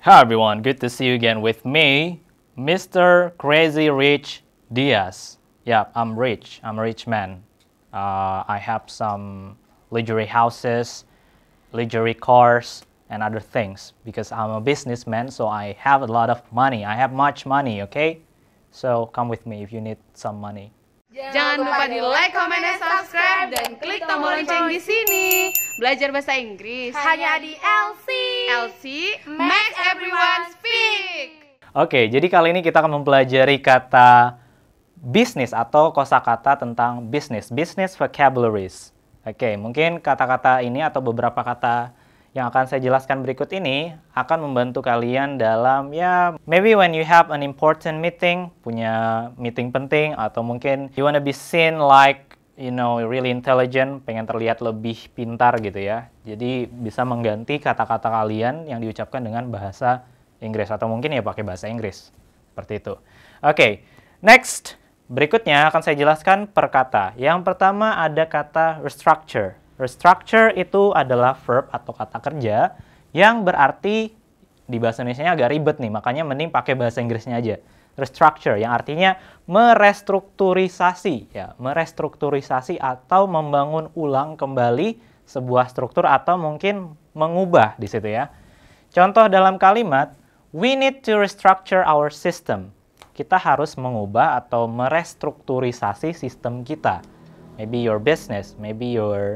Hi everyone, good to see you again with me, Mr. Crazy Rich Diaz. Yeah, I'm rich. I'm a rich man. I have some luxury houses, luxury cars, and other things because I'm a businessman, so I have a lot of money. I have much money, okay? So come with me if you need some money. Jangan lupa di like, comment, dan subscribe, dan klik tombol lonceng di sini. Belajar bahasa Inggris hanya di LC. LC makes everyone speak. Oke, jadi kali ini kita akan mempelajari kata bisnis atau kosakata tentang bisnis, business vocabularies. Oke, mungkin kata-kata ini atau beberapa kata yang akan saya jelaskan berikut ini akan membantu kalian dalam maybe when you have an important meeting, punya meeting penting, atau mungkin you wanna be seen like really intelligent, pengen terlihat lebih pintar gitu ya. Jadi bisa mengganti kata-kata kalian yang diucapkan dengan bahasa Inggris atau mungkin ya pakai bahasa Inggris. Seperti itu. Oke, next. Berikutnya akan saya jelaskan per kata. Yang pertama ada kata restructure. Restructure itu adalah verb atau kata kerja yang berarti di bahasa Indonesianya agak ribet nih, makanya mending pakai bahasa Inggrisnya aja. Restructure yang artinya merestrukturisasi, ya, merestrukturisasi atau membangun ulang kembali sebuah struktur atau mungkin mengubah di situ ya. Contoh dalam kalimat, we need to restructure our system. Kita harus mengubah atau merestrukturisasi sistem kita. Maybe your business, maybe your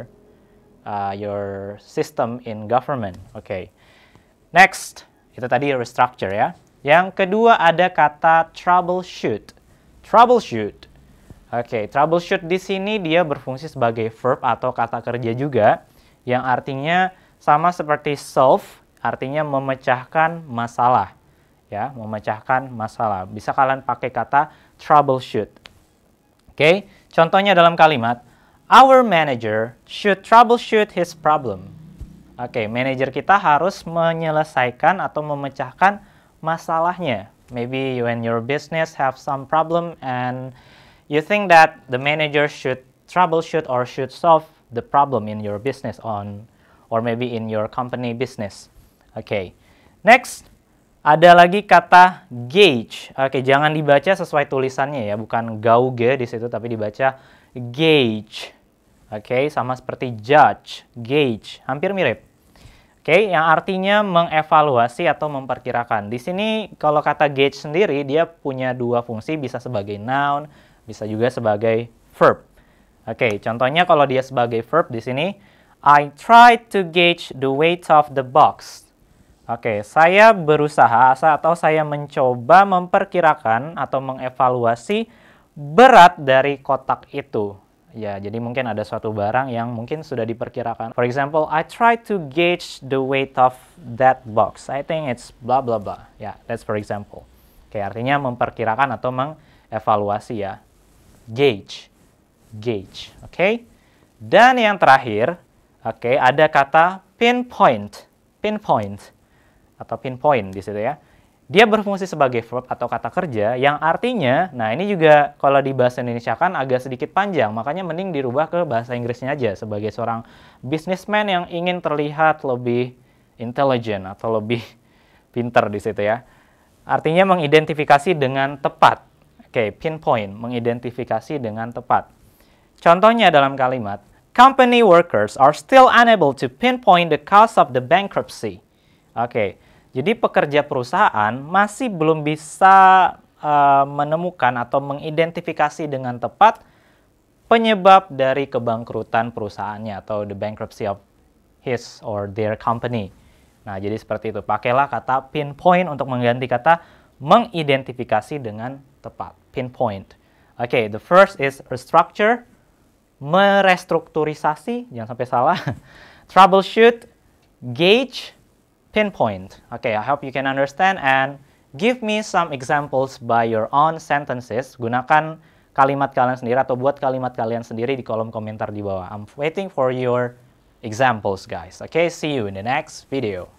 system in government. Oke. Next, itu tadi restructure ya. Yang kedua ada kata troubleshoot. Troubleshoot. Oke, troubleshoot di sini dia berfungsi sebagai verb atau kata kerja juga yang artinya sama seperti solve, artinya memecahkan masalah. Ya, memecahkan masalah. Bisa kalian pakai kata troubleshoot. Oke, contohnya dalam kalimat our manager should troubleshoot his problem. Oke, manajer kita harus menyelesaikan atau memecahkan masalahnya. Maybe when your business have some problem and you think that the manager should troubleshoot or should solve the problem in your business or maybe in your company business. Oke. Next, ada lagi kata gauge. Oke, jangan dibaca sesuai tulisannya ya, bukan gauge di situ tapi dibaca gauge. Oke, sama seperti judge, gauge, hampir mirip. Oke, yang artinya mengevaluasi atau memperkirakan. Di sini kalau kata gauge sendiri dia punya dua fungsi, bisa sebagai noun, bisa juga sebagai verb. Oke, contohnya kalau dia sebagai verb di sini, I try to gauge the weight of the box. Oke, saya berusaha atau saya mencoba memperkirakan atau mengevaluasi berat dari kotak itu. Ya, jadi mungkin ada suatu barang yang mungkin sudah diperkirakan. For example, I try to gauge the weight of that box. I think it's blah blah blah. Ya, that's for example. Oke, artinya memperkirakan atau mengevaluasi ya. Gauge. Gauge, oke? Dan yang terakhir, oke, ada kata pinpoint. Pinpoint atau pinpoint di situ ya. Dia berfungsi sebagai verb atau kata kerja yang artinya, nah ini juga kalau di bahasa Indonesia kan agak sedikit panjang, makanya mending dirubah ke bahasa Inggrisnya aja sebagai seorang businessman yang ingin terlihat lebih intelligent atau lebih pinter di situ ya. Artinya mengidentifikasi dengan tepat. Oke, pinpoint, mengidentifikasi dengan tepat. Contohnya dalam kalimat, company workers are still unable to pinpoint the cause of the bankruptcy. Oke. Jadi pekerja perusahaan masih belum bisa menemukan atau mengidentifikasi dengan tepat penyebab dari kebangkrutan perusahaannya atau the bankruptcy of his or their company. Nah, jadi seperti itu. Pakailah kata pinpoint untuk mengganti kata mengidentifikasi dengan tepat. Pinpoint. Oke, the first is restructure, merestrukturisasi, jangan sampai salah. Troubleshoot, gauge, pinpoint. Okay, I hope you can understand and give me some examples by your own sentences. Gunakan kalimat kalian sendiri atau buat kalimat kalian sendiri di kolom komentar di bawah. I'm waiting for your examples, guys. Okay, see you in the next video.